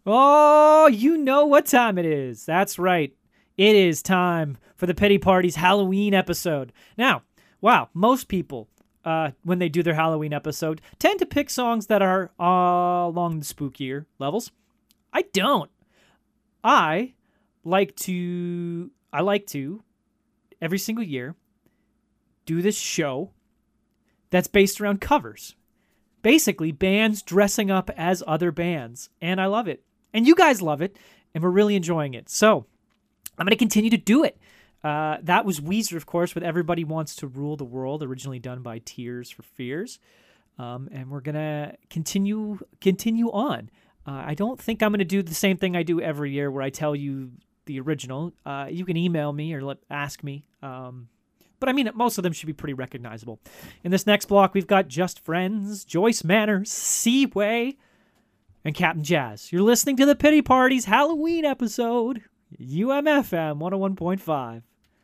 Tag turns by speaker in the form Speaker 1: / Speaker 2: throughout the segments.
Speaker 1: Oh, you know what time it is. That's right. It is time for the Pity Party's Halloween episode. Now, wow, most people, when they do their Halloween episode, tend to pick songs that are along the spookier levels. I don't. I like to, every single year, do this show that's based around covers. Basically, bands dressing up as other bands. And I love it. And you guys love it. And we're really enjoying it. So, I'm going to continue to do it. That was Weezer, of course, with Everybody Wants to Rule the World, originally done by Tears for Fears. And we're going to continue on. I don't think I'm going to do the same thing I do every year where I tell you the original. You can email me or ask me. But I mean, most of them should be pretty recognizable. In this next block, we've got Just Friends, Joyce Manor, Seaway, and Captain Jazz. You're listening to the Pity Party's Halloween episode, UMFM 101.5.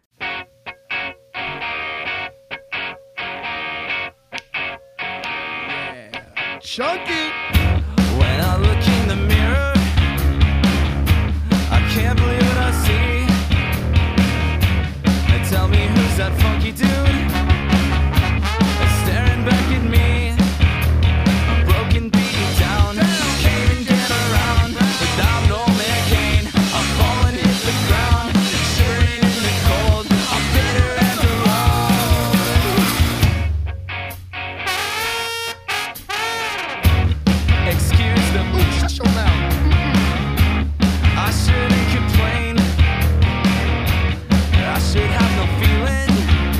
Speaker 2: Yeah. Chunky!
Speaker 3: When I look in the mirror, I can't believe what I see. And tell me who's that funky dude staring back at me. A broken, beaten down, can't even get around without no man cane. I'm falling hit the ground, shivering in the cold. I'm bitter and alone. Excuse the
Speaker 2: Shut your mouth.
Speaker 3: I shouldn't complain. I should have no feeling.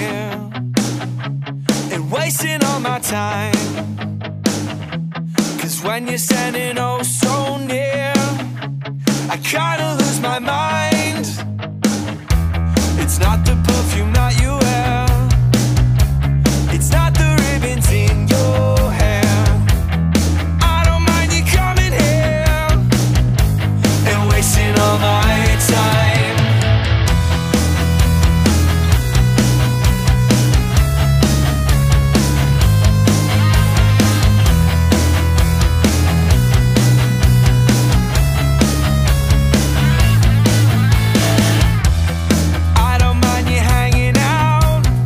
Speaker 3: here and wasting all my time. 'Cause when you're standing oh so near, I kinda lose my mind. It's not the perfume that you wear, it's not the ribbons in your hair. I don't mind you coming here and wasting all my time. I don't mind you hanging out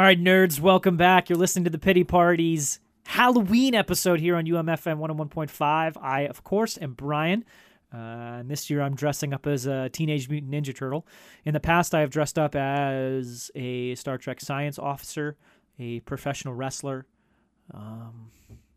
Speaker 1: right, nerds, welcome back. You're listening to the Pity Party's Halloween episode here on UMFM 101.5. I, of course, am Brian. And this year I'm dressing up as a Teenage Mutant Ninja Turtle. In the past, I have dressed up as a Star Trek science officer, a professional wrestler. I'm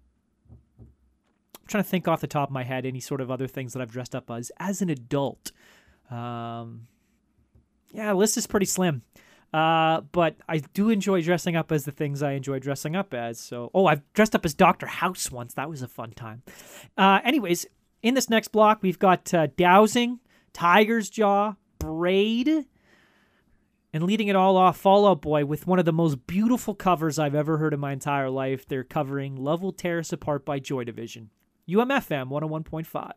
Speaker 1: trying to think off the top of my head any sort of other things that I've dressed up as an adult. Yeah, the list is pretty slim. But I do enjoy dressing up as the things I enjoy dressing up as. So, I've dressed up as Dr. House once. That was a fun time. Anyways, in this next block, we've got Dowsing, Tiger's Jaw, Braid, and leading it all off, Fall Out Boy with one of the most beautiful covers I've ever heard in my entire life. They're covering Love Will Tear Us Apart by Joy Division. UMFM 101.5.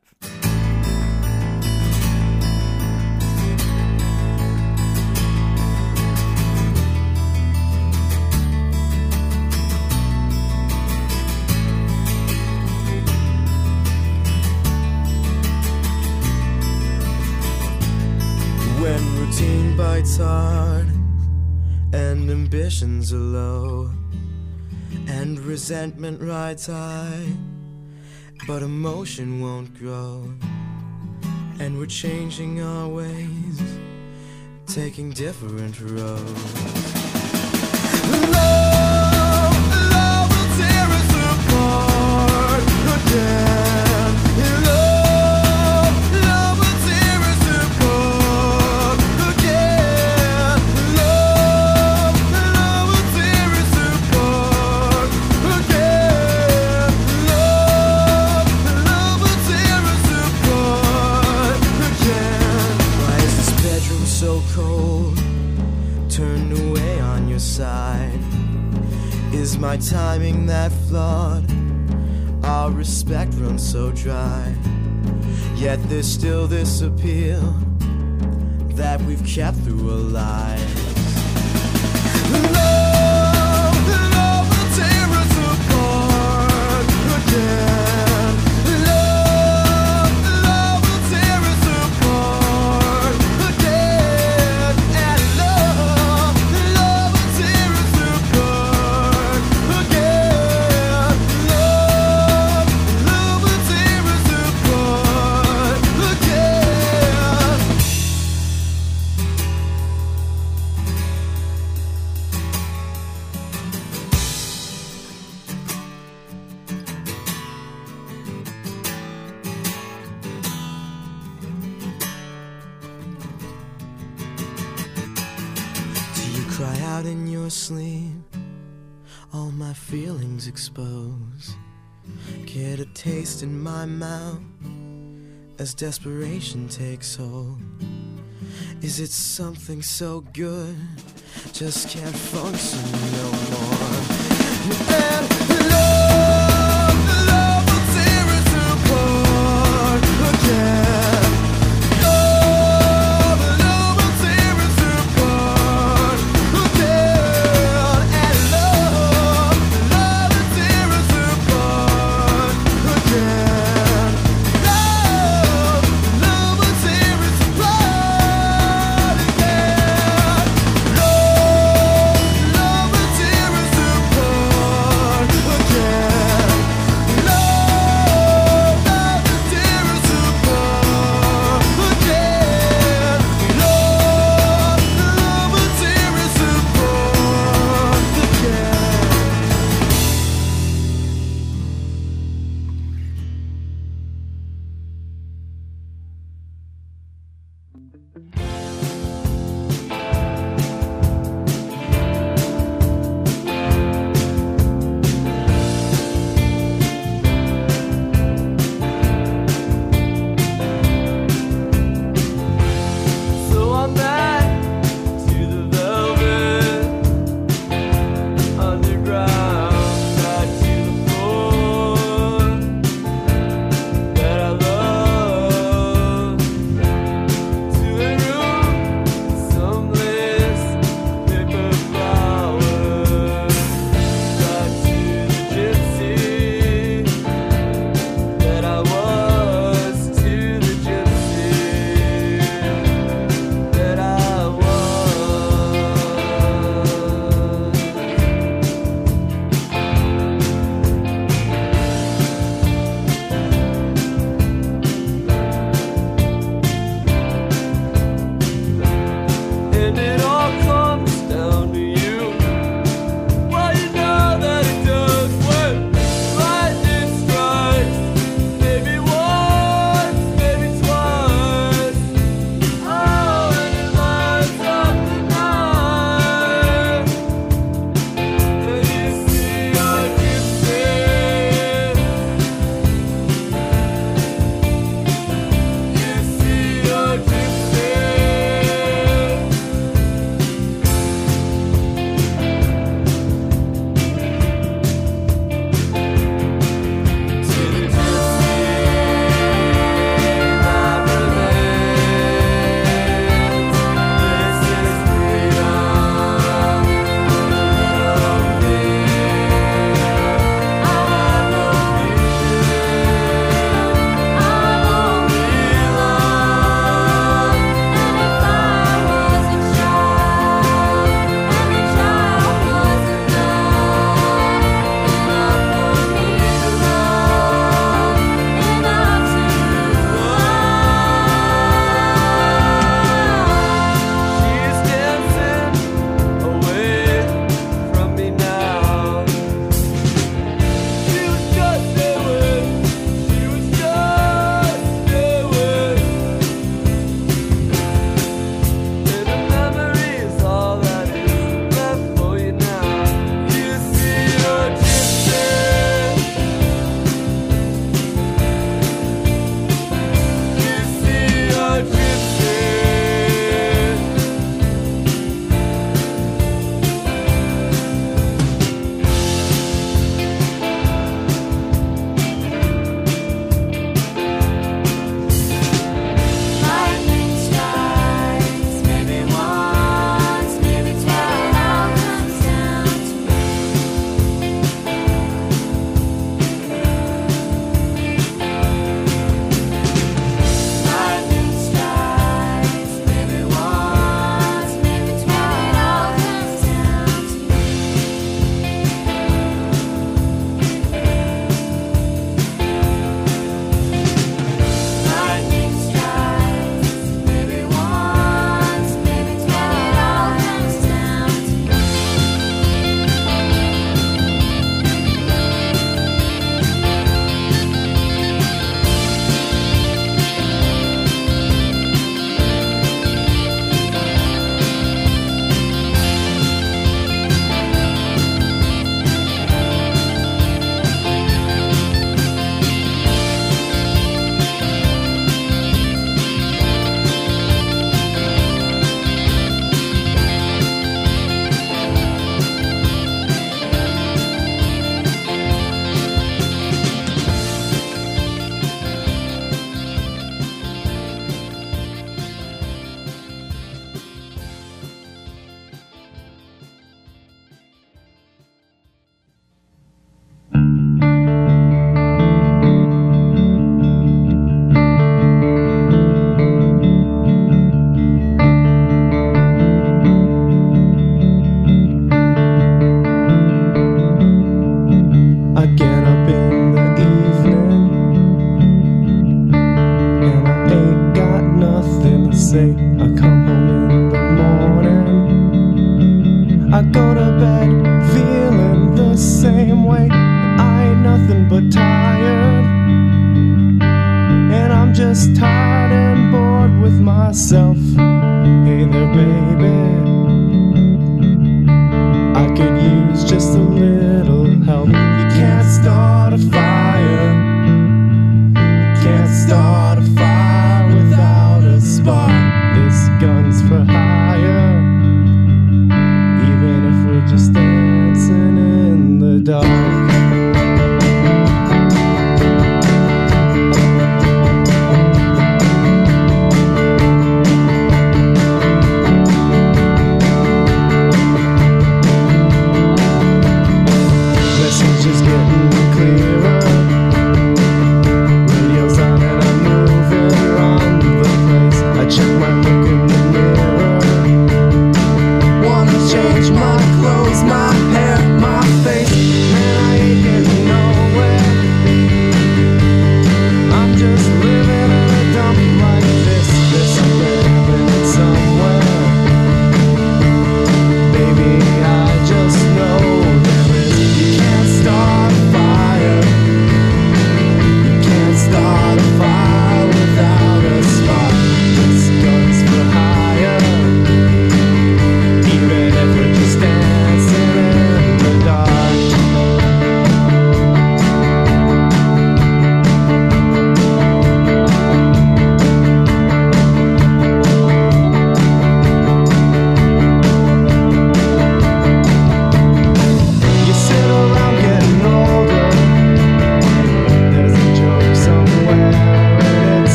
Speaker 4: When routine bites hard and ambitions are low and resentment rides high, but emotion won't grow, and we're changing our ways, taking different roads. Love will tear us apart again. Love will tear us apart again. Love will tear us apart again. Love will tear us apart again. Why is this bedroom so cold? Turned away on your side. Is my timing that flawed? Our respect runs so dry. Yet there's still this appeal that we've kept through our lives. Love will tear us apart again. Love will tear us apart again. And love will tear us apart again. Love will tear us apart again. Do you cry out in your sleep? All my feelings exposed. Get a taste in my mouth as desperation takes hold. Is it something so good? Just can't function no more. And love will tear us apart again. Love will tear us apart again. And love will tear us apart again. Love will tear us apart again. Love will tear us apart again.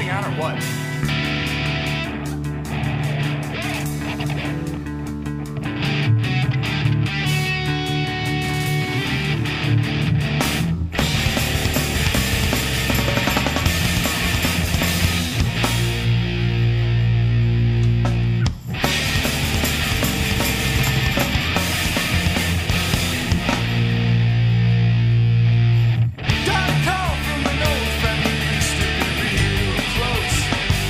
Speaker 2: moving on or what? Got a call from an old friend who used to be real close.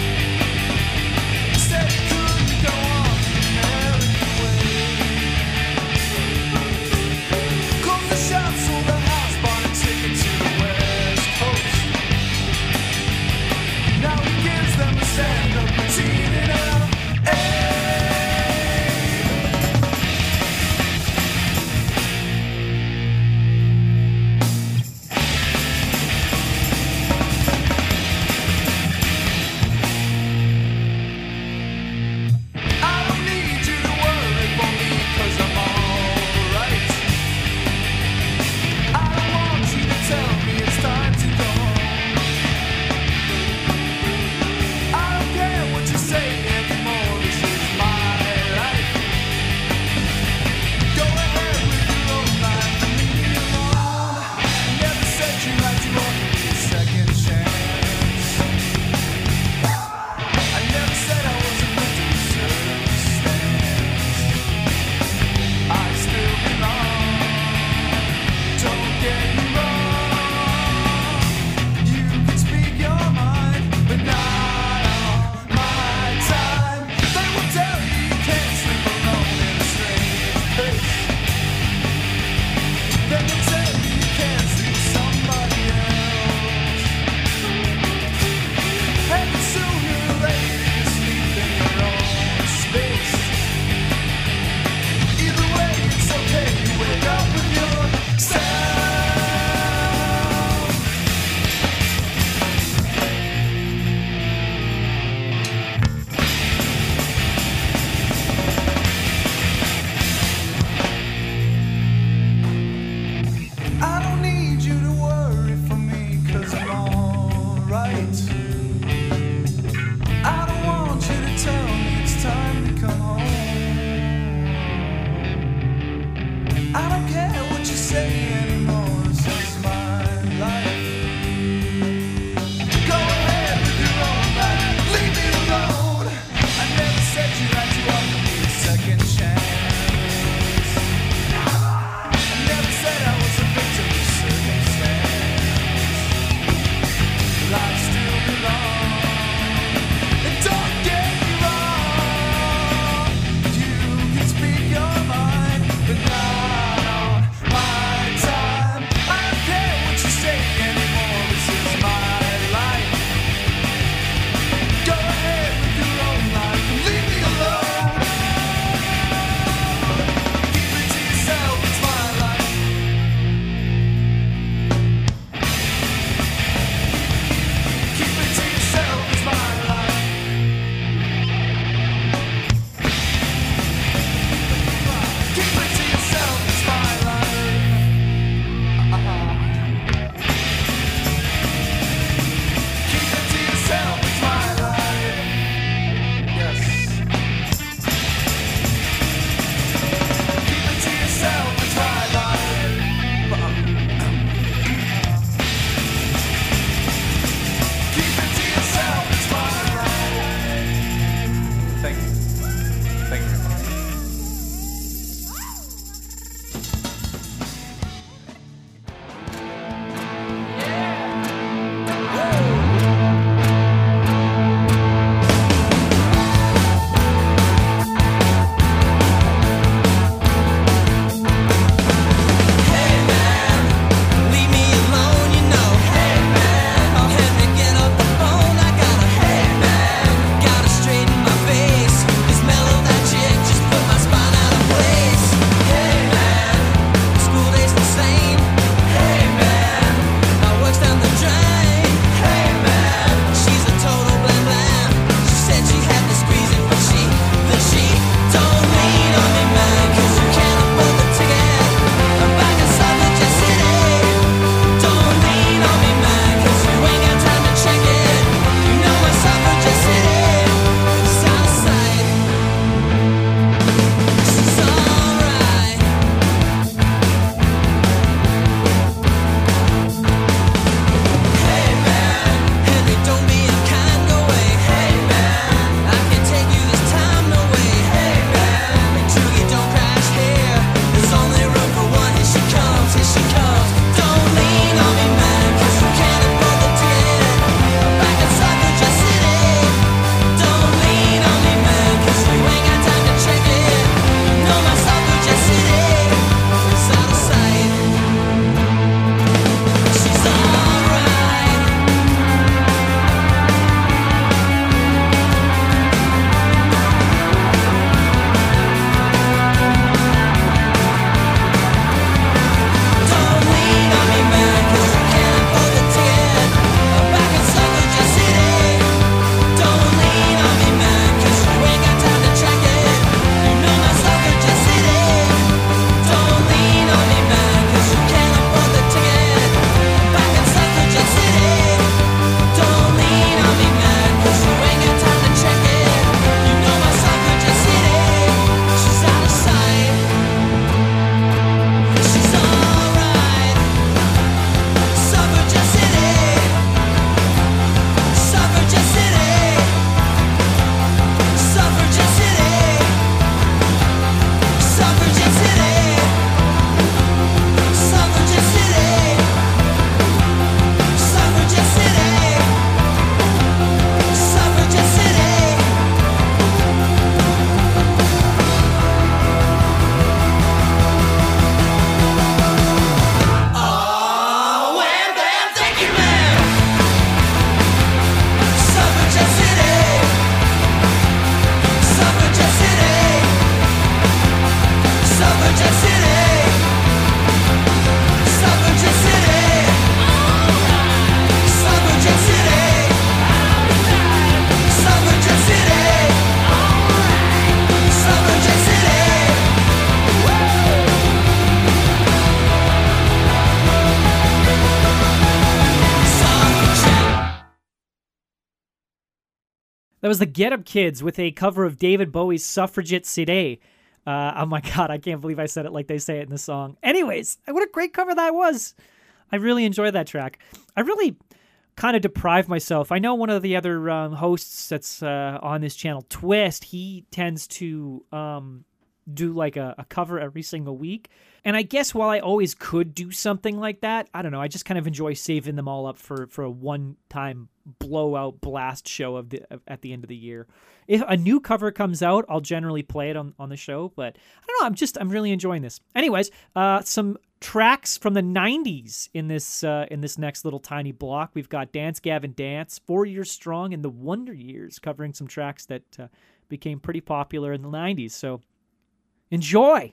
Speaker 1: That was the Get Up Kids with a cover of David Bowie's Suffragette City. Oh my God, I can't believe I said it like they say it in the song. Anyways, what a great cover that was. I really enjoyed that track. I really kind of deprived myself. I know one of the other hosts that's on this channel, Twist, he tends to do like a cover every single week. And I guess while I always could do something like that, I don't know, I just kind of enjoy saving them all up for a one-time blowout blast show at the end of the year. If a new cover comes out, I'll generally play it on the show, but I don't know, I'm really enjoying this. Anyways, some tracks from the 90s in this next little tiny block. We've got Dance Gavin Dance, 4 Years Strong, and The Wonder Years, covering some tracks that became pretty popular in the 90s. So enjoy!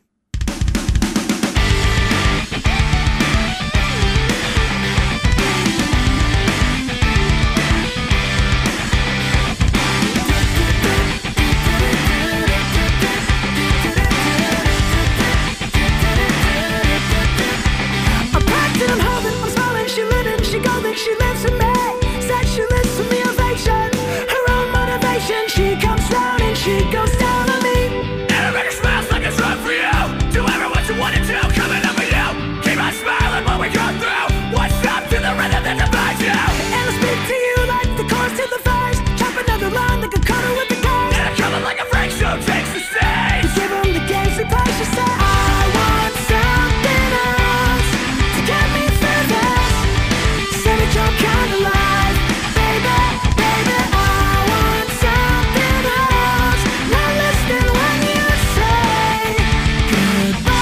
Speaker 5: She lives in me, said she lives for me ovation. Her own motivation, she comes round and she goes down on me. And her record smiles like it's wrong for you. Do ever what you want to do, coming up with you. Keep on smiling when we go through. What's up to the rhythm that divides you? And I speak to you like the chorus to the verse. Chop another line like a cutter with the curse. And I come in like a freak show takes the stage. We give them the games we play, she said I want something else to get me through this. Your kind of life, baby, baby, I want something else. Not listening when you say goodbye.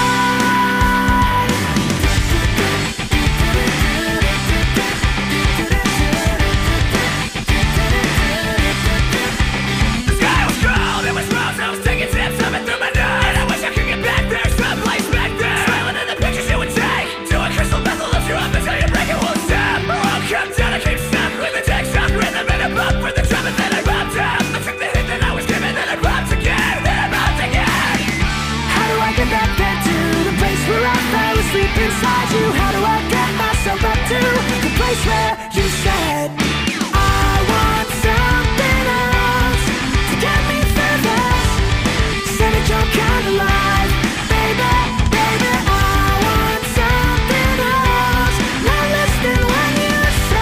Speaker 5: The sky was cold, it was rose, I was taking tips of it through my nose. And I wish I could get back there, someplace back there. Smiling at the pictures you would take. Do a crystal method, lift you up until you break it, won't stop. Come down, I keep stuck with the text off rhythm and a bump for the drum and then I popped up. I took the hit that I was given, then I popped again, then I popped again. How do I get back there to the place where I fell asleep inside you? How do I get myself back to the place where you said I want something else to get me through this? Said it's your kind of life, baby, baby, I want something else. Not listening when you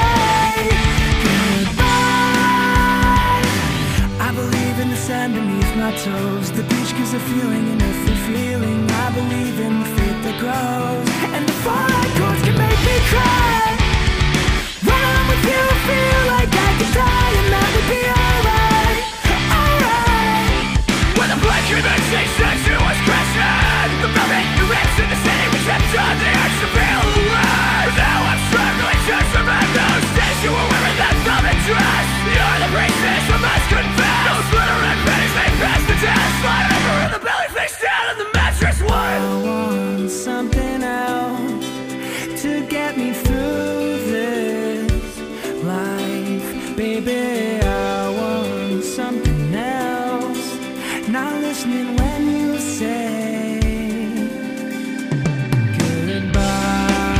Speaker 5: sand beneath my toes. The beach gives a feeling, an earthly feeling. I believe in the faith that grows. And the fallout chords can make me cry. When I'm with you, feel like I could die, and that would be alright, alright. When the blood came and chased us, it was crashing. The velvet, the rips, and the city we kept on the arch to feel alive. Now I'm struggling to survive those days you were wearing that velvet dress. You're the priestess I must confess. Those glitter and pennies may pass the test. Slide over in the belly, face down in the mattress one. I want something else to get me through this life, baby. I want something else. Not listening when you say goodbye.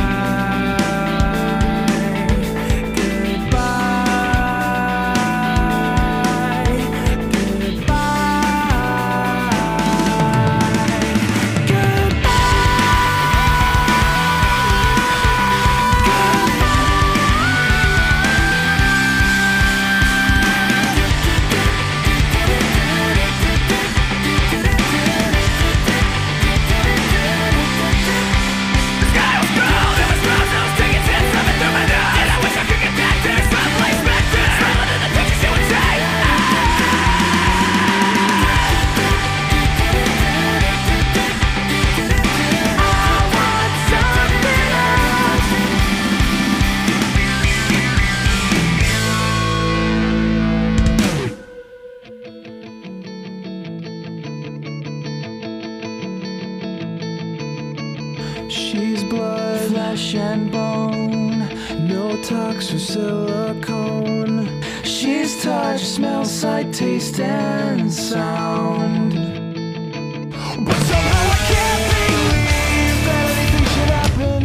Speaker 5: She's blood, flesh and bone, no tox or silicone. She's touch, smell, sight, taste, and sound. But somehow I can't believe that anything should happen.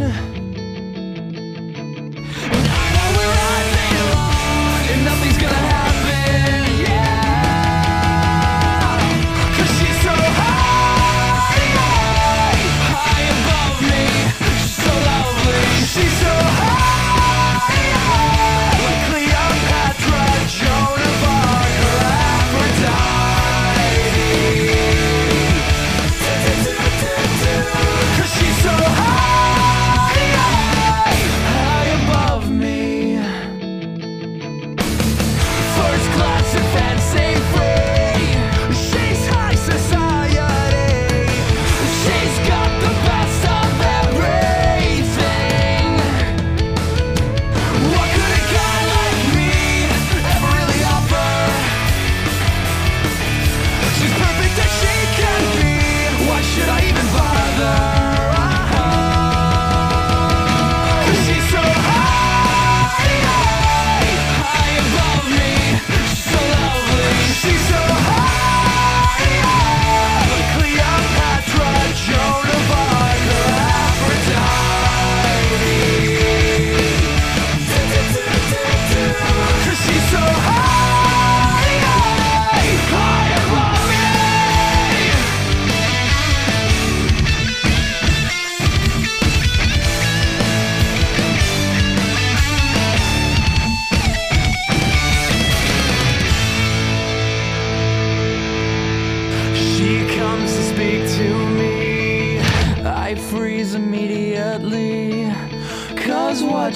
Speaker 5: And I know where I belong, and nothing's gonna happen, yeah.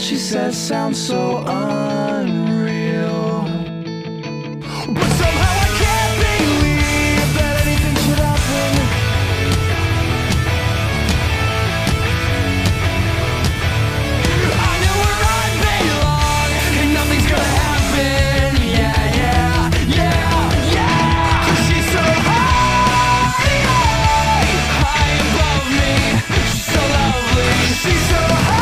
Speaker 5: she says sounds so unreal. But somehow I can't believe that anything should happen. I know where I belong, and nothing's gonna happen. Yeah, yeah, yeah, yeah. 'Cause she's so high above me. She's so lovely. She's so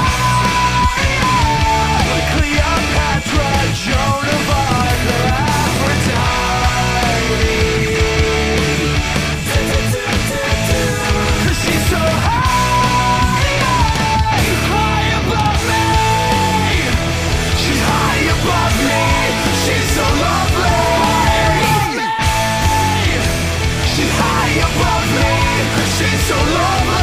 Speaker 5: high, like Cleopatra, Joan of Arc, or Aphrodite. 'Cause she's so high above me. She's high above me. She's so lovely. She's high above me. She's so lovely.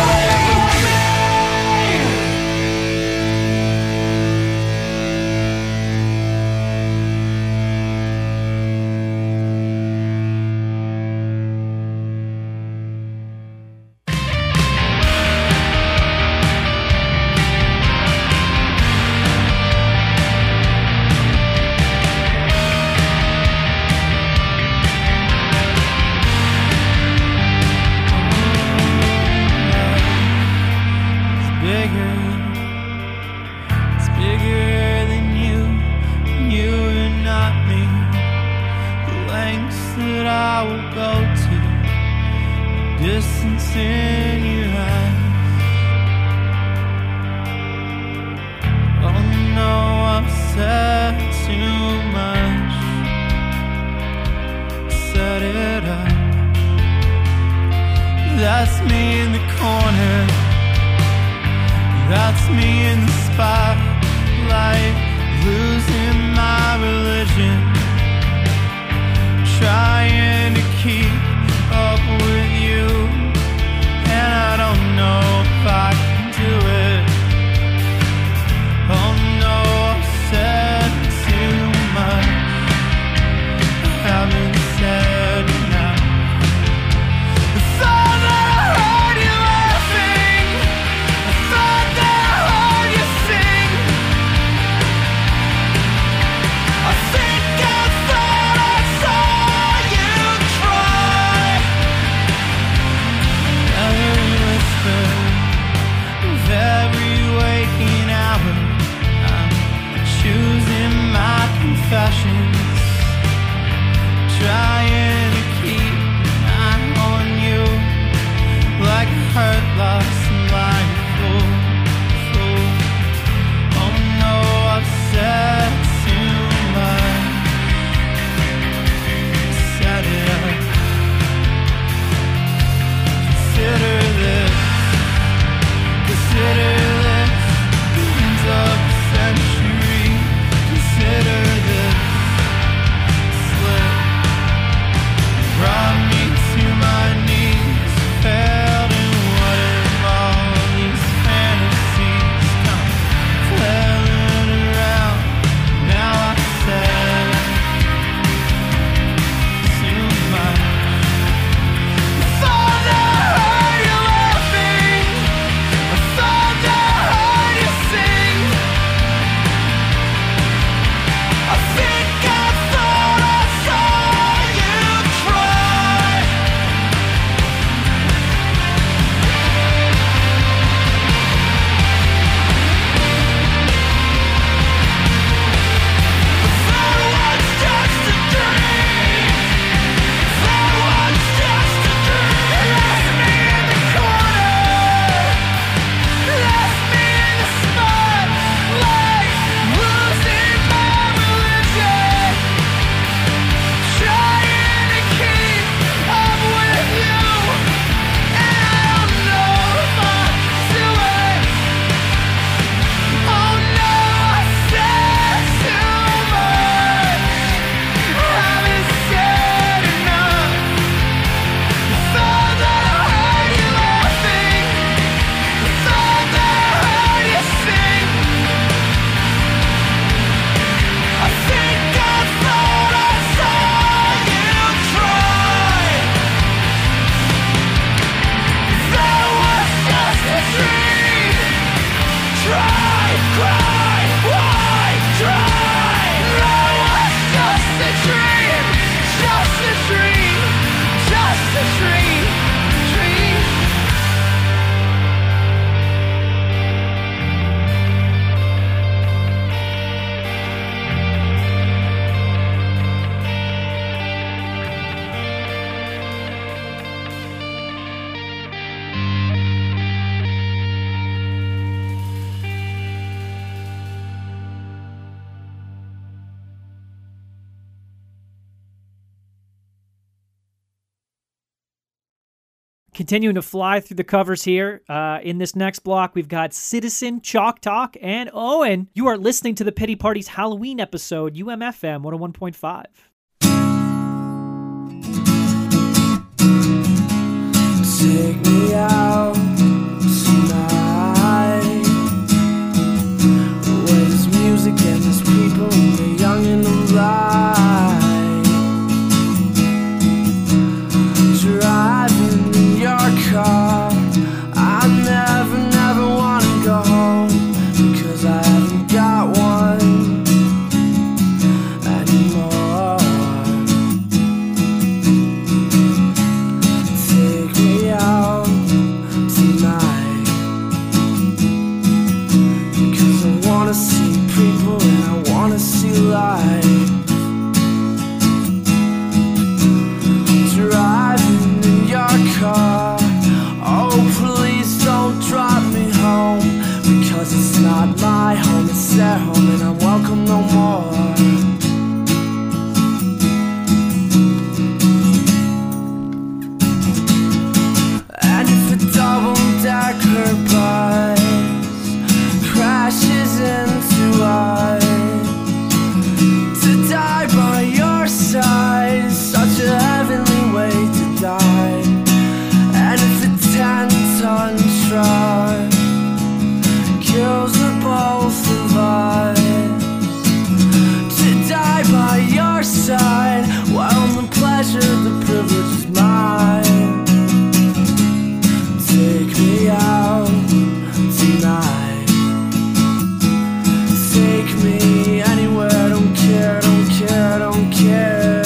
Speaker 5: It's bigger than you and not me. The lengths that I will go to, the distance in your eyes. Oh no, I've said too much. Set it up. That's me in the corner. That's me in the spotlight, losing my religion, trying to keep up with you, and I don't know if I can do it. Oh no, I've said too much. I haven't said enough. I thought that I heard you laughing. I thought that I heard you sing.
Speaker 1: Continuing to fly through the covers here. In this next block, we've got Citizen, Chalk Talk, and Owen. You are listening to the Pity Party's Halloween episode, UMFM 101.5.
Speaker 5: Take me out tonight, where there's music and there's people and they're young and alive. Driving in your car, I never wanna go home, because I haven't got one anymore. Take me out tonight, because I wanna see people and I wanna see life. Driving in your car, oh please don't drive me home, because it's not my home, it's their home, and I'm welcome no more. And if a double-decker bus crashes into us, to die by your side is such a heavenly way to die. And if a 10-ton truck kills the both of us, to die by your side, well, the pleasure, the privilege is mine. Take me out tonight, take me anywhere, don't care, don't care, don't care.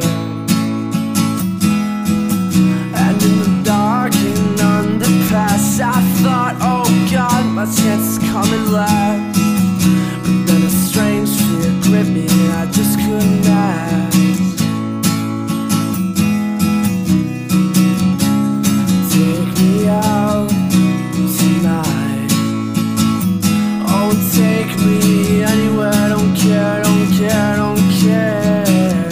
Speaker 5: And in the dark and underpass, I thought, oh God, my chance is coming last. But then a strange fear gripped me and I just couldn't ask. Take me out tonight, oh take me anywhere, don't care, don't care, don't care.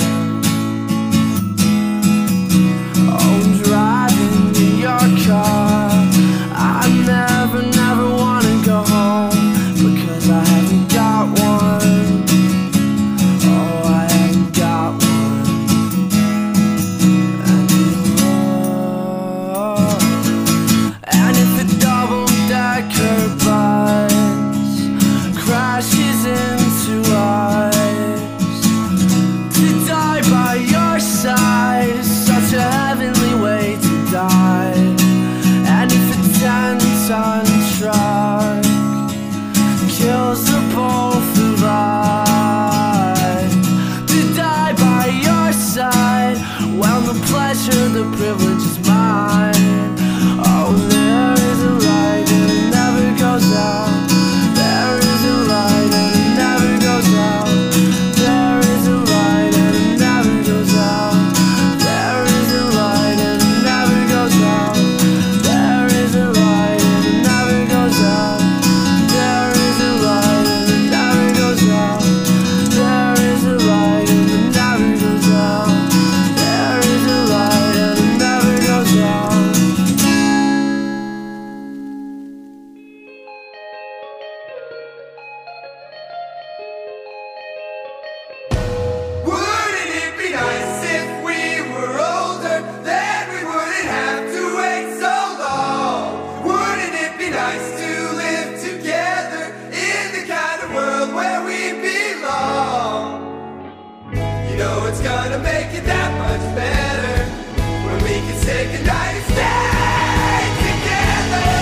Speaker 5: Oh, driving in your car, I never wanna go home, because I haven't got one. Oh, I haven't got one anymore. And if a double-decker bus crashes into us, to die by your side is such a heavenly way to die. And if a 10-ton truck kills the both of us, to die by your side, well, the pleasure, the privilege is mine. Oh, there is a light and it never goes out. There is a light and it never goes out. There is a light and it never goes out. There is a light and it never goes out. There is a light and it never goes out. There is a light and it never goes out. There is a light and it never goes out. There is a light and it never goes out.
Speaker 3: Wouldn't it be nice if we were older? Then we wouldn't have to wait so long. Wouldn't it be nice to live together in the kind of world where we belong? You know it's gonna make it that much better when we can say goodnight and stay together.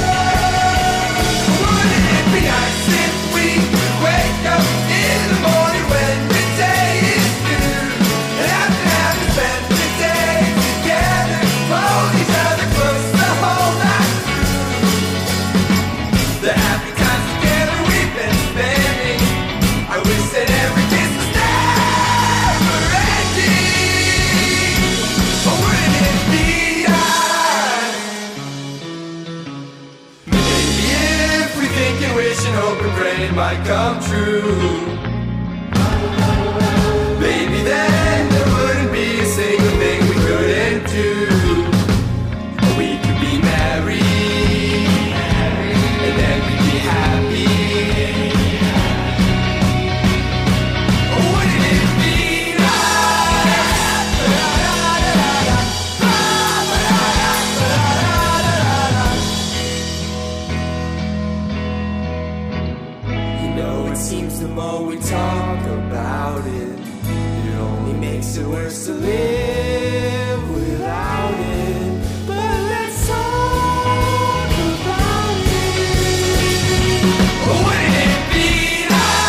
Speaker 3: Wouldn't it be nice if we could wake up in the morning when the day is new, and after having spent the day together, hold each other close the whole night through? The happy times together we've been spending, I wish that every kiss was never ending. Oh, wouldn't it be nice? Maybe if we think and wish and hope and pray it might come true, maybe then there wouldn't be a single thing we couldn't do. We
Speaker 4: seems the more we talk about it, it only makes it worse to live without it. But let's talk about it. Wouldn't it be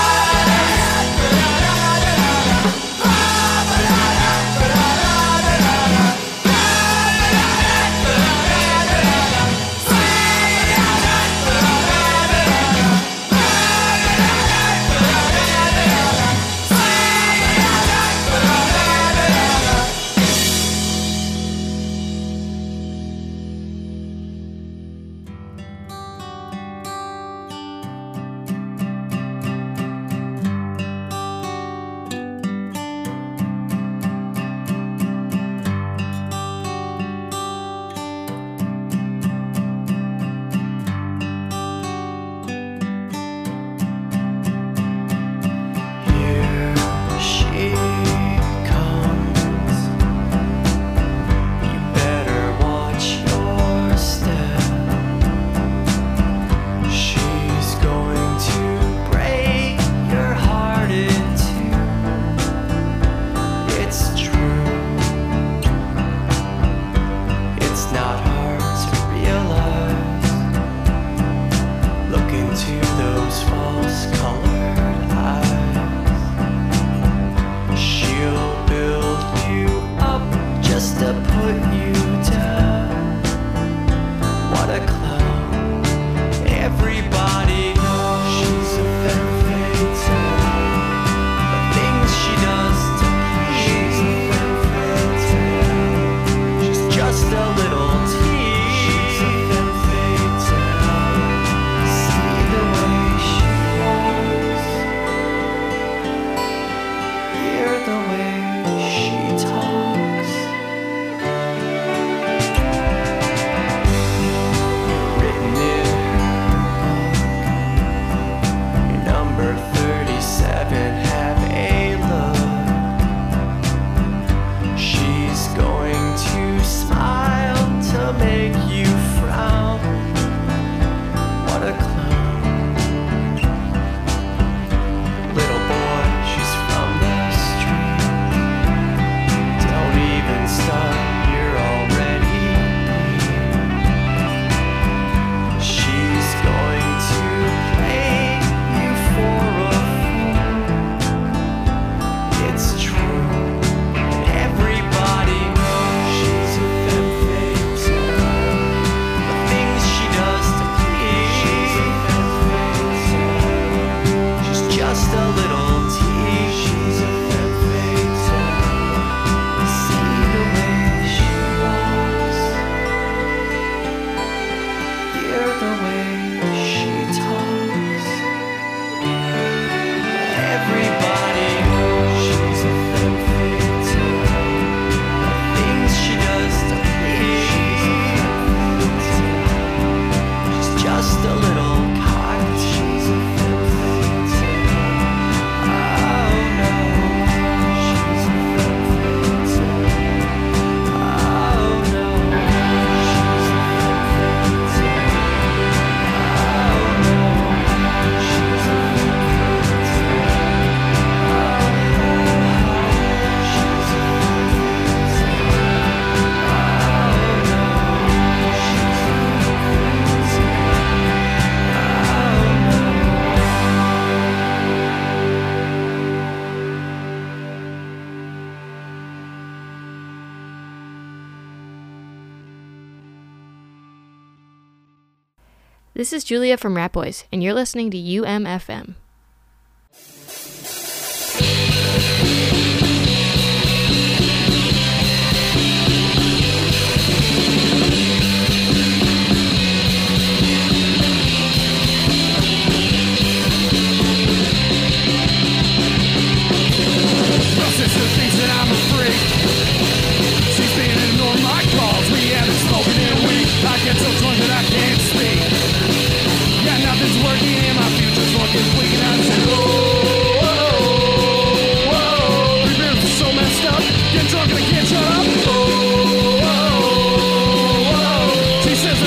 Speaker 6: This is Julia from Rat Boys, and you're listening to UMFM.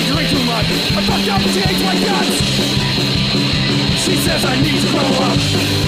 Speaker 5: I fucked up and she hates my guts. She says I need to grow up.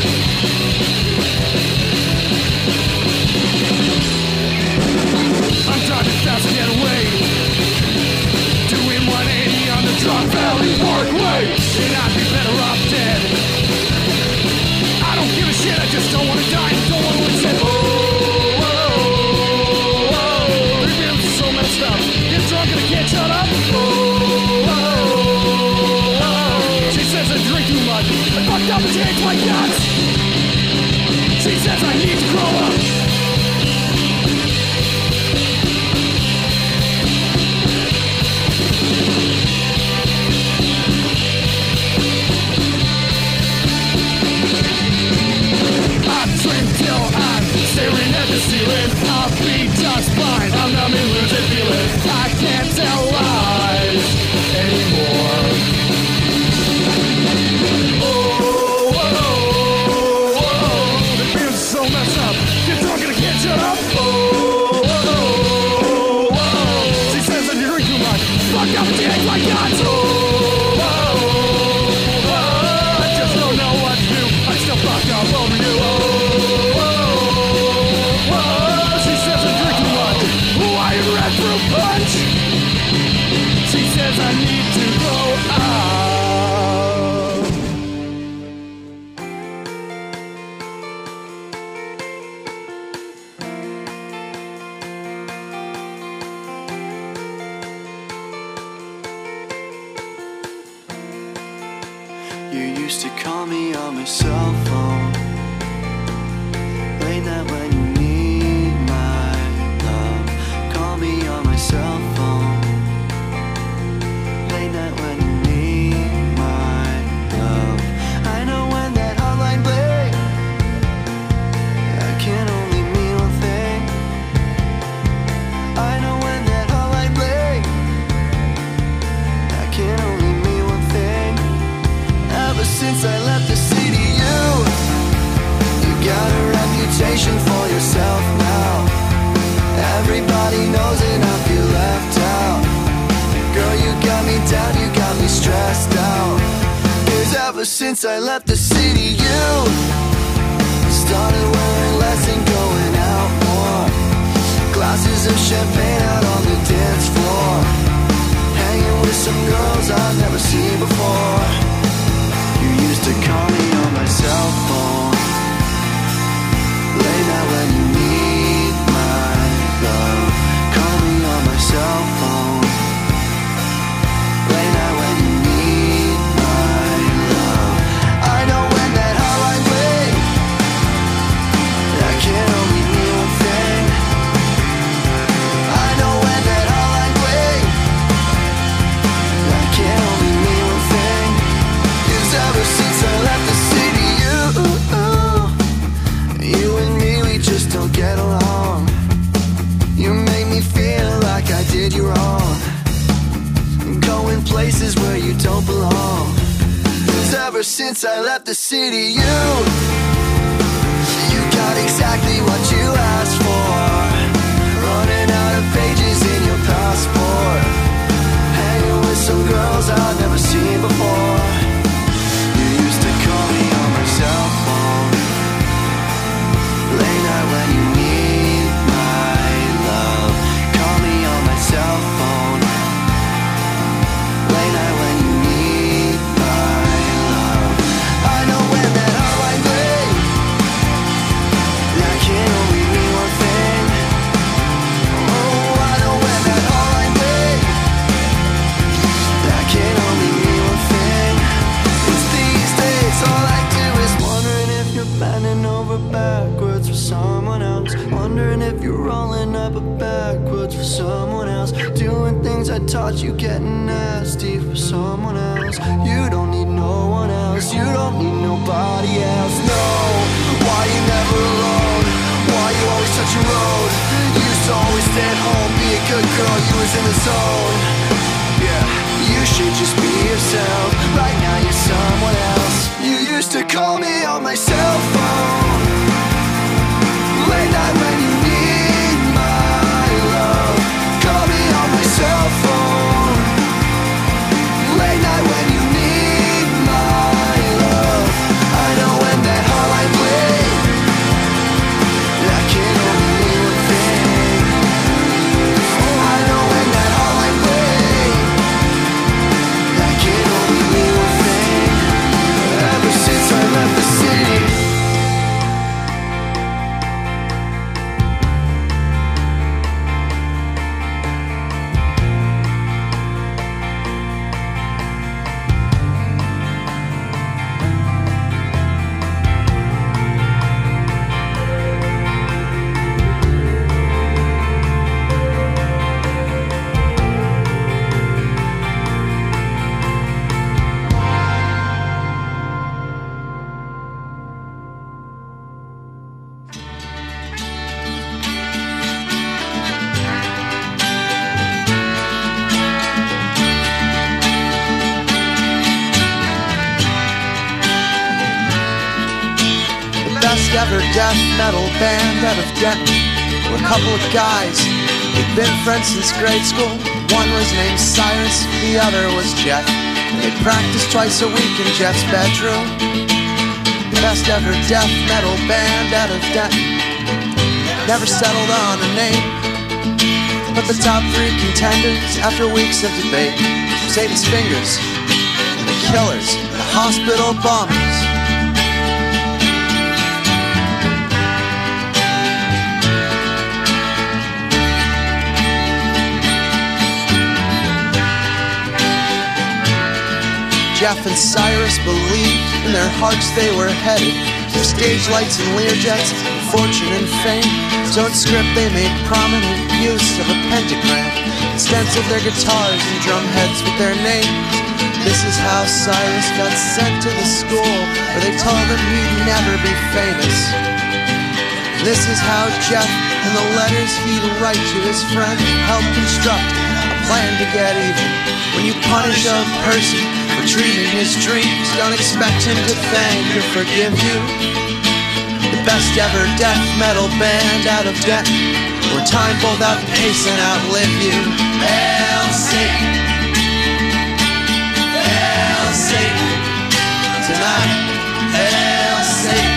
Speaker 2: all over you. She says I'm drinking lunch. White red fruit punch. She says I need to grow up.
Speaker 4: You used to call me on my cell phone, late night when you need my love. Call me on my cell phone, late night when you need my love. I know when that hotline bling, I can only mean one thing. I know when that hotline bling, I can only mean one thing. Ever since I left the city, you got a reputation for yourself now. Everybody knows it, I feel left out. Girl, you got me down, you got me stressed out. 'Cause ever since I left the city, you started wearing less and going out more. Glasses of champagne out on the dance floor, hanging with some girls I've never seen before. You used to call me on my cell phone, late night when you need my love. Call me on my cell phone, late night when you need my love. I know when that hotline bling, I can only mean one thing. I know when that hotline bling, I can only mean one thing. 'Cause ever since I left the city, you and me, we just don't get along. You make me feel like I did you wrong, going places where you don't belong. 'Cause ever since I left the city, you got exactly what you asked for, running out of pages in your passport, hanging with some girls I've never seen before. You used to call me on my cell phone, late night when you need my love. Call me on my cell phone, late night when you need my love. I know when that hotline bling, I can only mean one thing. Oh, I know when that hotline bling, I can only mean one thing. It's these days, all I do is wondering if you're bending over backwards for someone else, wondering if you're rolling up backwards for someone else, doing things I taught you, getting nasty for someone else. You don't need no one else, you don't need nobody else. No, why you never alone? Why you always touch your road? You used to always stay at home, be a good girl, you was in the zone. Yeah, you should just be yourself. Right now you're someone else. You used to call me on my cell phone, late night when you need my love. Call me on my cell phone, late night when you need my love. I know when that hotline bling, I can only mean one thing. I know when that hotline bling, I can only mean one thing. Ever since I left the city,
Speaker 7: best ever death metal band out of Denton were a couple of guys. They'd been friends since grade school. One was named Cyrus, the other was Jeff. They practiced twice a week in Jeff's bedroom. Best ever death metal band out of Denton. Never settled on a name, but the top 3 contenders after weeks of debate: Satan's Fingers, The Killers, The Hospital Bombers. Jeff and Cyrus believed in their hearts they were headed for stage lights and Learjets, fortune and fame. So in script they made prominent use of a pentagram, stenciled their guitars and drum heads with their names. This is how Cyrus got sent to the school where they told him he'd never be famous. This is how Jeff and the letters he'd write to his friend helped construct a plan to get even. When you punish a person for dreaming his dreams, don't expect him to thank or forgive you. The best ever death metal band out of Denton, where time pulled out pace and outlive you. Hail Satan, hail Satan, tonight, hail Satan.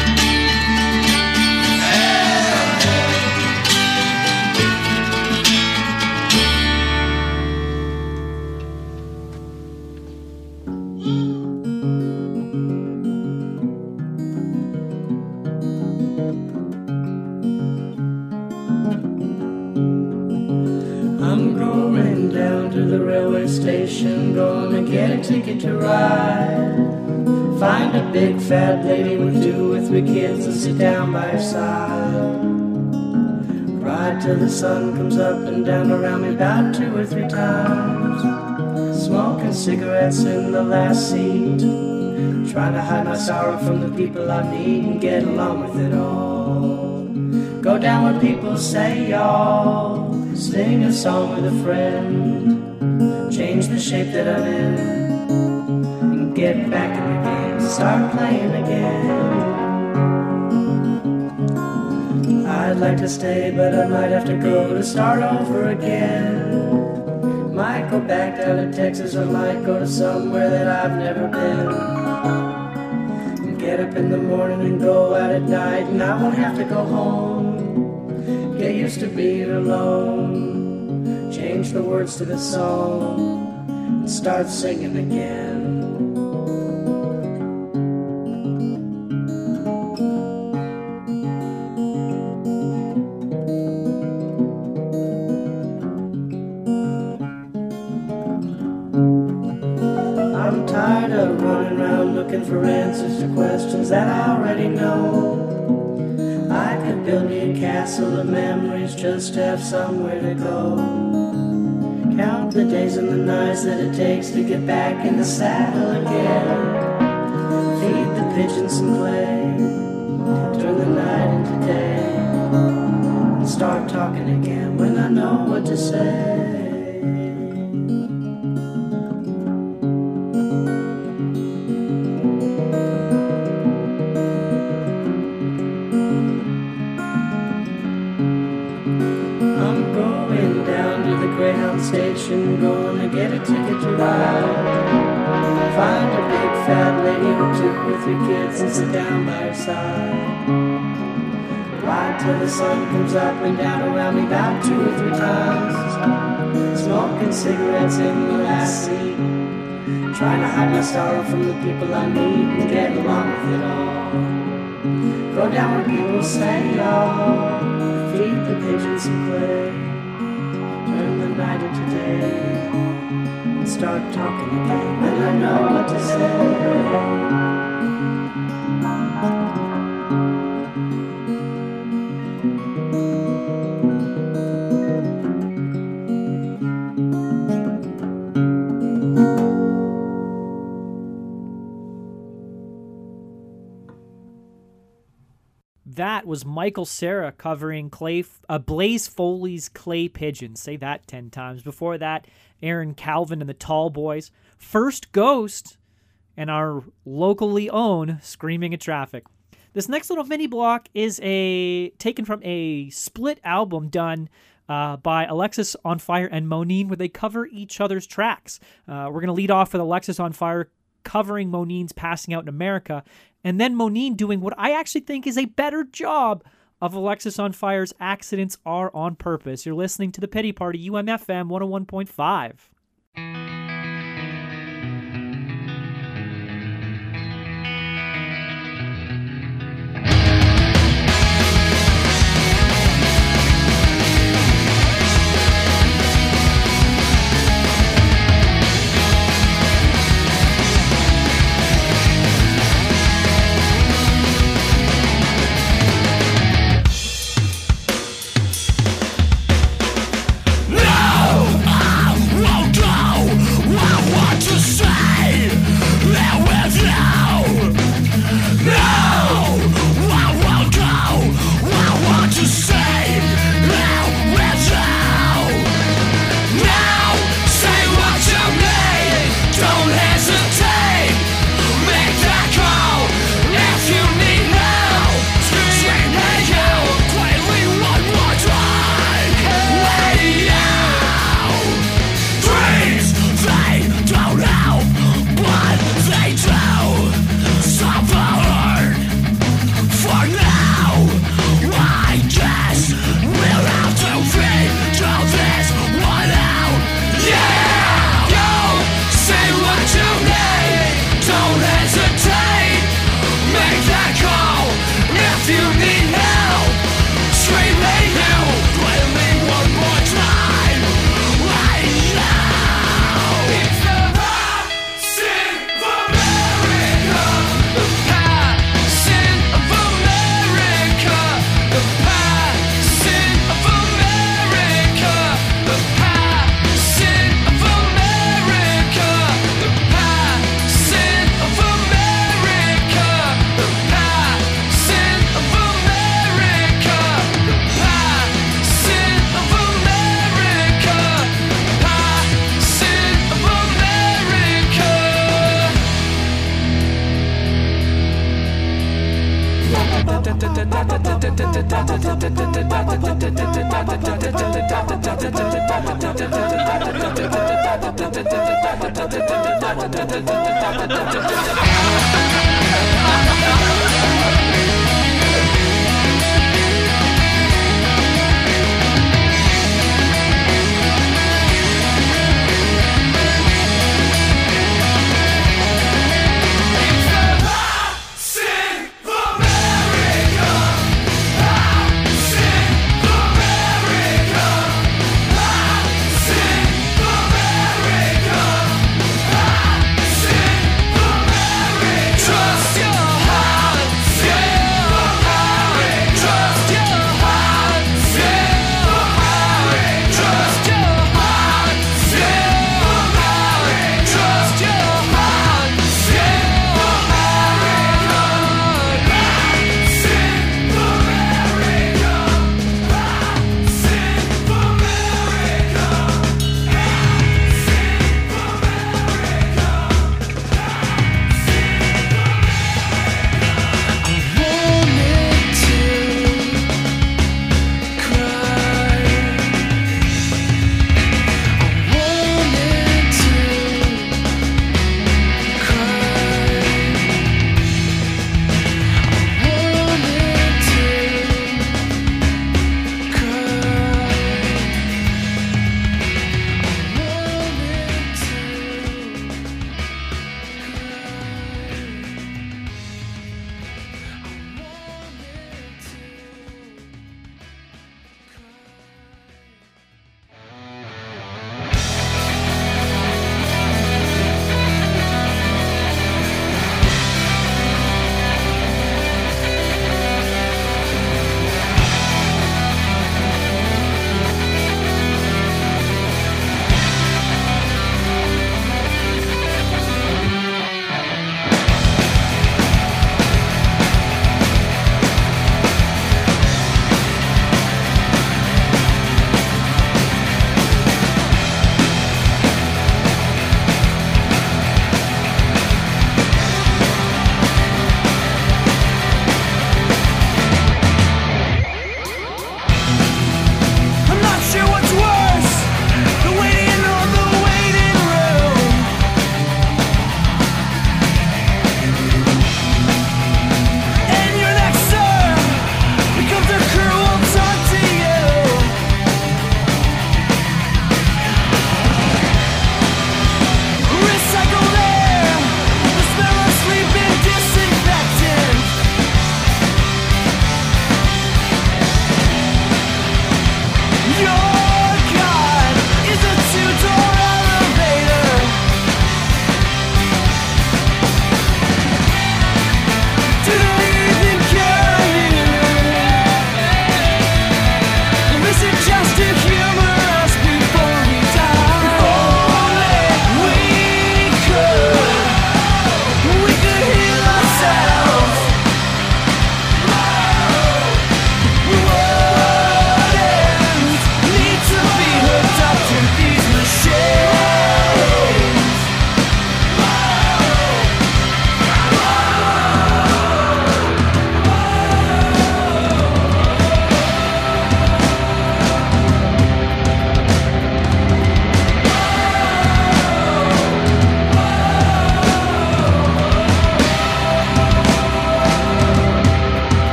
Speaker 5: Station, gonna get a ticket to ride. Find a big fat lady with 2 or 3 kids and sit down by her side. Ride till the sun comes up and down around me about 2 or 3 times. Smoking cigarettes in the last seat, trying to hide my sorrow from the people I meet and get along with it all. Go down where people say y'all, sing a song with a friend, change the shape that I'm in, and get back in the game, start playing again. I'd like to stay, but I might have to go to start over again. Might go back down to Texas, or might go to somewhere that I've never been. And get up in the morning and go out at night, and I won't have to go home. Get used to being alone, change the words to the song, and start singing again. I'm tired of running around looking for answers to questions that I already know. I could build me a castle of memories just to have somewhere to go. Count the days and the nights that it takes to get back in the saddle again. Feed the pigeons some clay, turn the night into day, and start talking again when I know what to say. Station, gonna get a ticket to ride. Find a big fat lady with 2 or 3 kids and sit down by her side. Ride till the sun comes up and down around me about 2 or 3 times. Smoking cigarettes in the last seat, trying to hide my sorrow from the people I meet and get along with it all. Go down where people say y'all, feed the pigeons some clay, night into day, and start talking again when I know what to say.
Speaker 1: That was Michael Cera covering Blaze Foley's Clay Pigeons. Say that 10 times. Before that, Aaron Calvin and the Tall Boys. First Ghost and our locally owned Screaming at Traffic. This next little mini block is taken from a split album done by Alexis on Fire and Monine, where they cover each other's tracks. We're going to lead off with Alexis on Fire covering Monine's passing out in America, and then Monine doing what I actually think is a better job of Alexis on Fire's Accidents Are on Purpose. You're listening to The Pity Party, UMFM 101.5.
Speaker 2: Trust your heart.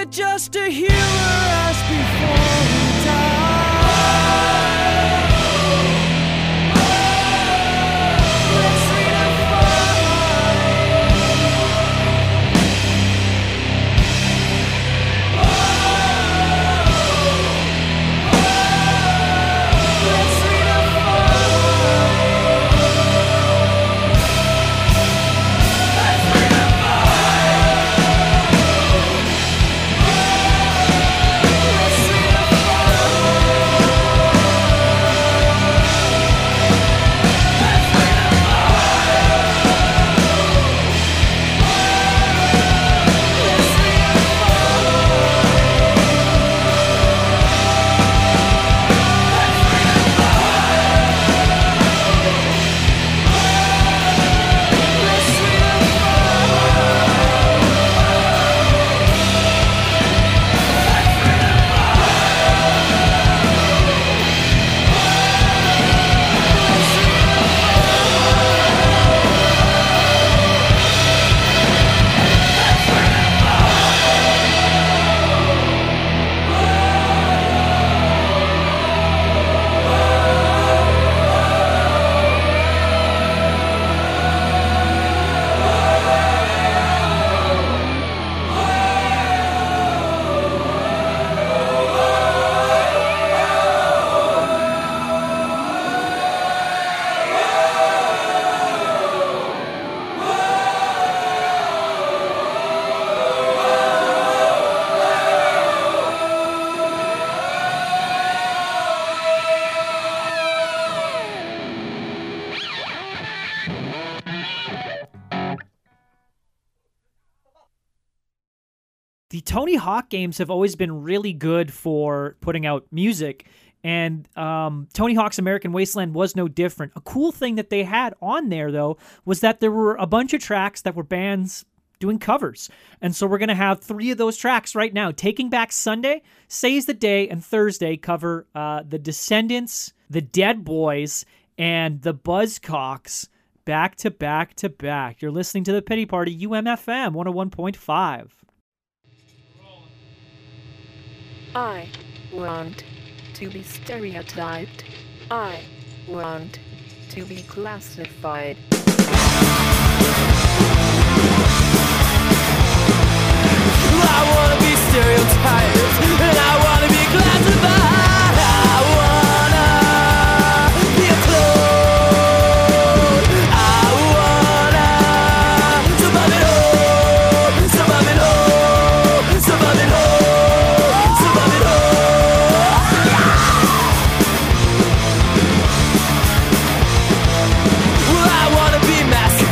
Speaker 5: it just to heal her as before we die. Let's
Speaker 1: The Tony Hawk games have always been really good for putting out music, and Tony Hawk's American Wasteland was no different. A cool thing that they had on there, though, was that there were a bunch of tracks that were bands doing covers. And so we're going to have 3 of those tracks right now. Taking Back Sunday, Seize the Day, and Thursday cover The Descendants, The Dead Boys, and The Buzzcocks back to back to back. You're listening to The Pity Party, UMFM 101.5.
Speaker 8: I want to be stereotyped. I want to be classified.
Speaker 2: I wanna be stereotyped, and I wanna be classified. I wanna be a clone. I wanna survive it all, survive it all, survive it all, survive it all. Well, I wanna be massive.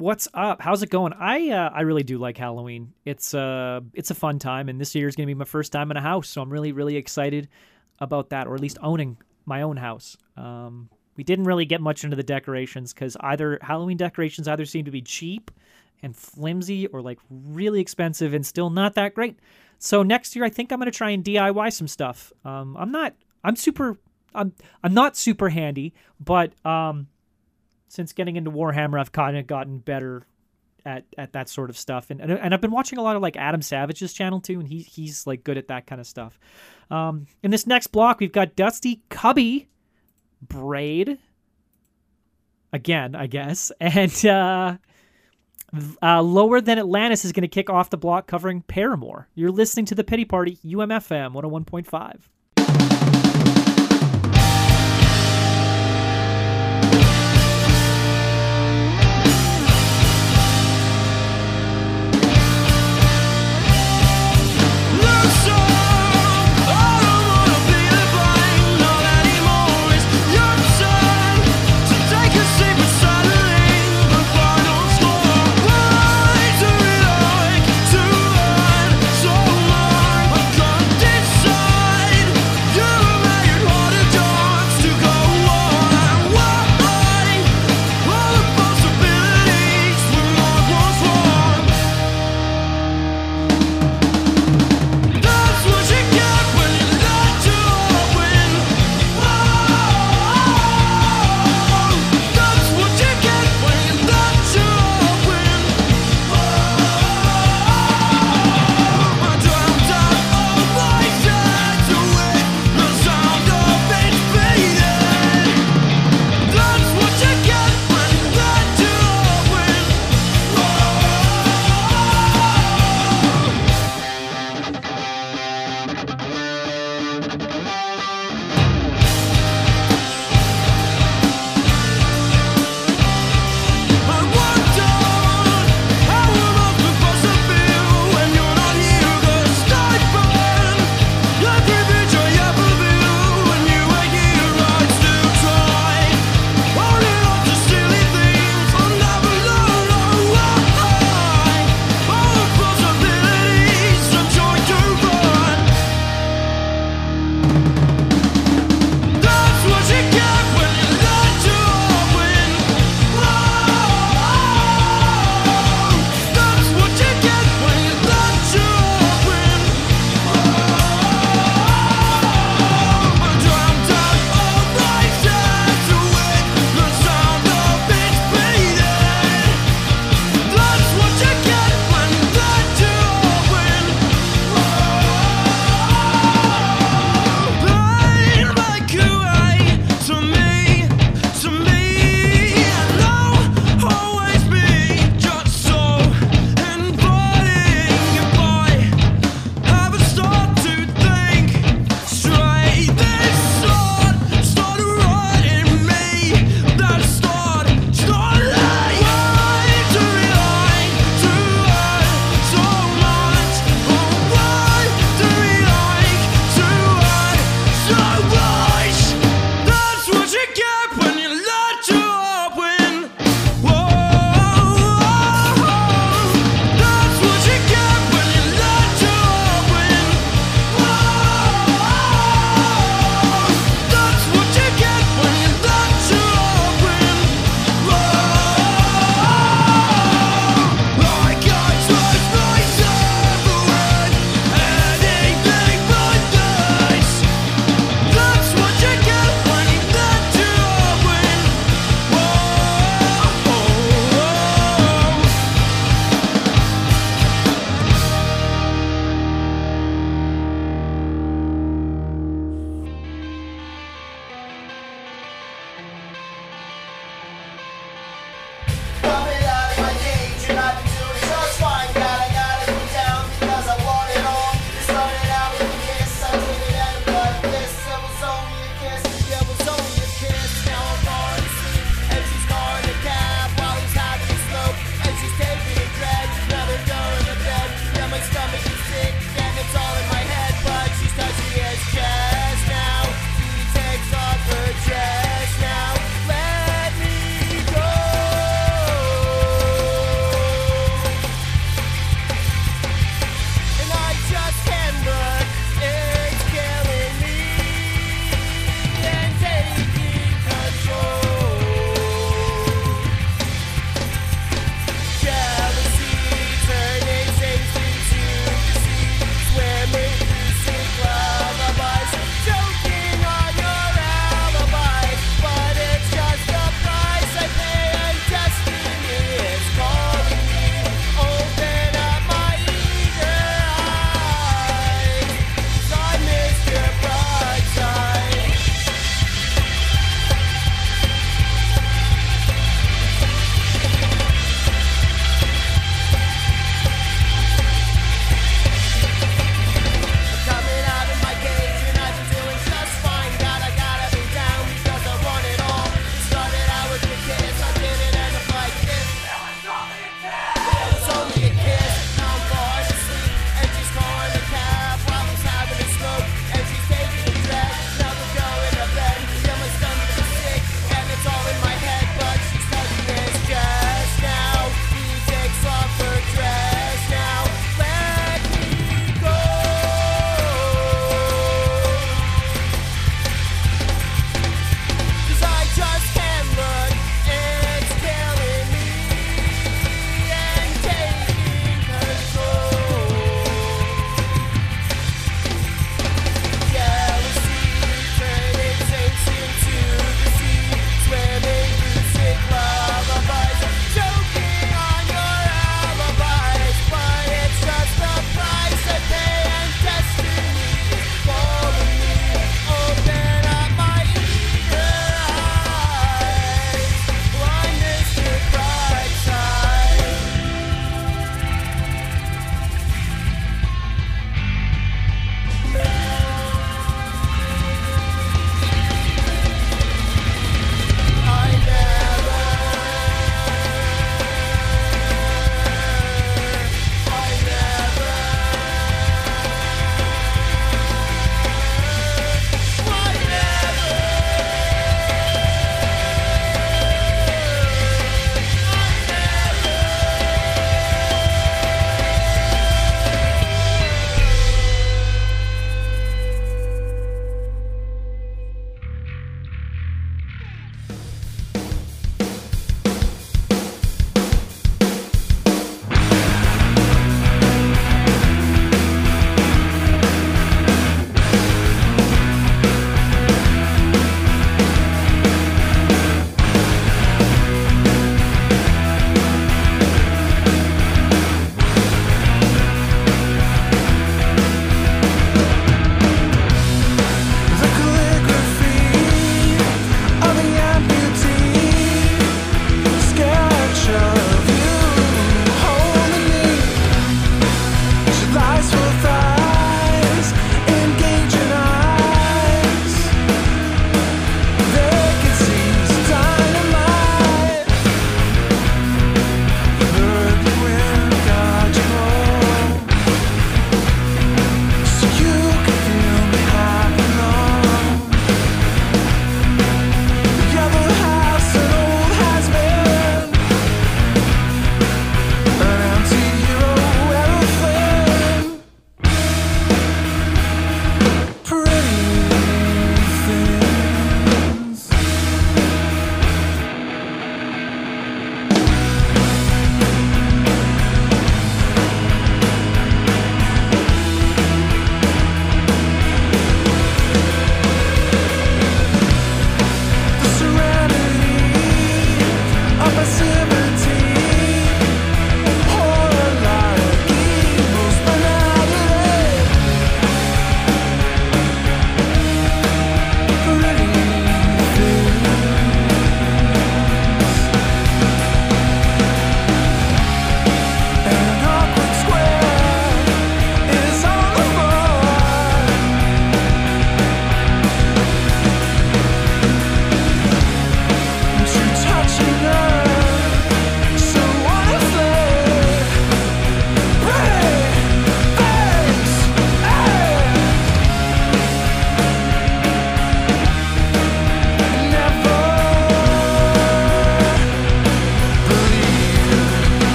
Speaker 1: What's up? How's it going? I really do like Halloween. It's a fun time, and this year is going to be my first time in a house, so I'm really, really excited about that, or at least owning my own house. We didn't really get much into the decorations because Halloween decorations either seem to be cheap and flimsy or like really expensive and still not that great. So next year, I think I'm going to try and DIY some stuff. I'm not super handy, but since getting into Warhammer, I've kind of gotten better at that sort of stuff. And I've been watching a lot of like Adam Savage's channel too, and he's like good at that kind of stuff. In this next block, we've got Dusty Cubby Braid again, I guess, and Lower Than Atlantis is going to kick off the block covering Paramore. You're listening to The Pity Party, UMFM 101.5.
Speaker 2: Decide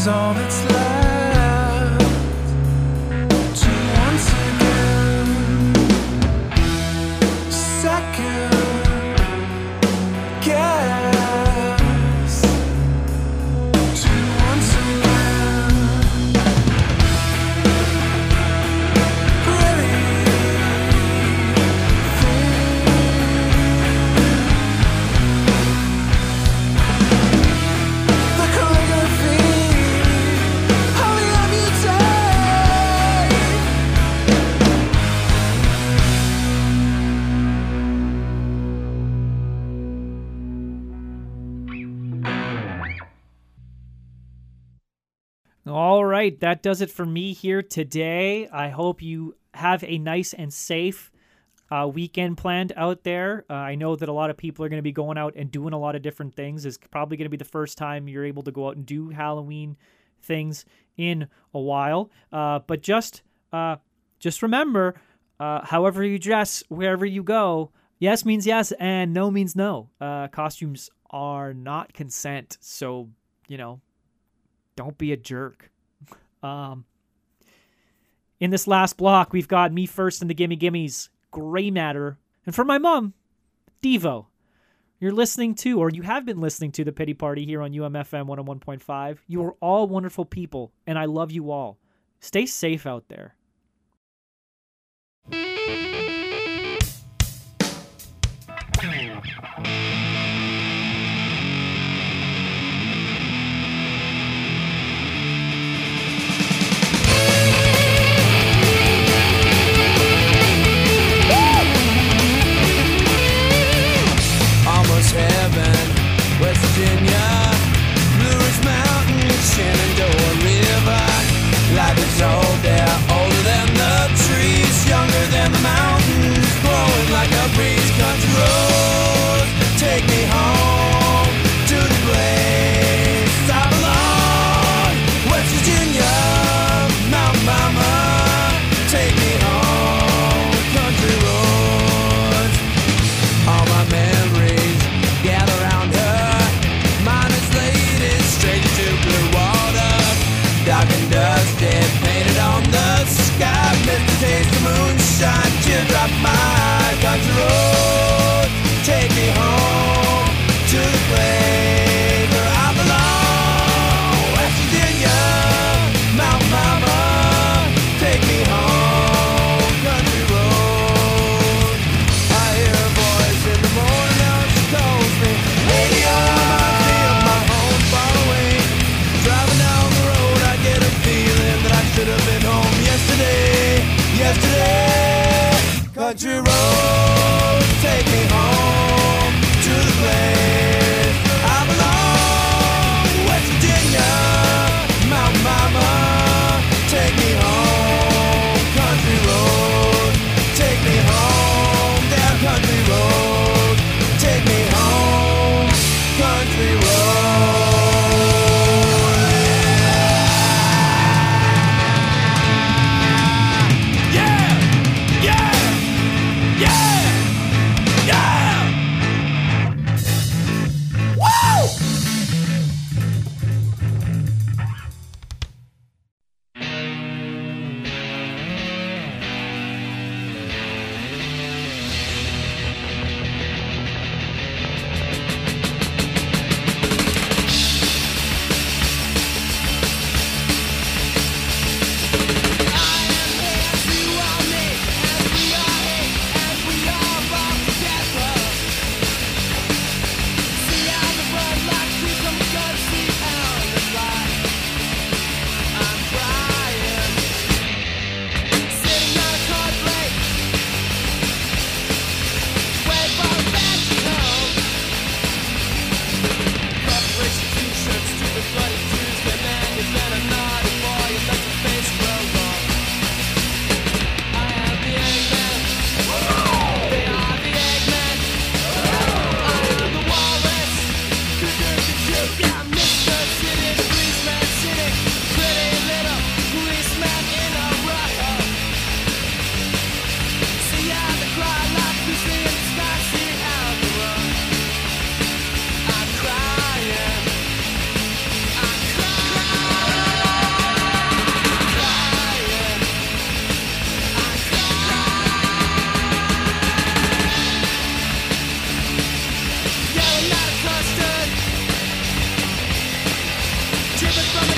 Speaker 5: is all that's left to once again second guess to once again really the calligraphy only of you take.
Speaker 1: All right, that does it for me here today. I hope you have a nice and safe weekend planned out there. I know that a lot of people are going to be going out and doing a lot of different things. It's probably going to be the first time you're able to go out and do Halloween things in a while. But just remember, however you dress, wherever you go, yes means yes and no means no. Costumes are not consent, so, don't be a jerk. In this last block, we've got Me First and the Gimme Gimmes, Gray Matter, and for my mom, Devo. You're listening to, or you have been listening to, The Pity Party here on UMFM 101.5. You are all wonderful people, and I love you all. Stay safe out there.
Speaker 2: Almost heaven, West Virginia, Blue Ridge Mountain, Shenandoah River. Life is old there, older it from the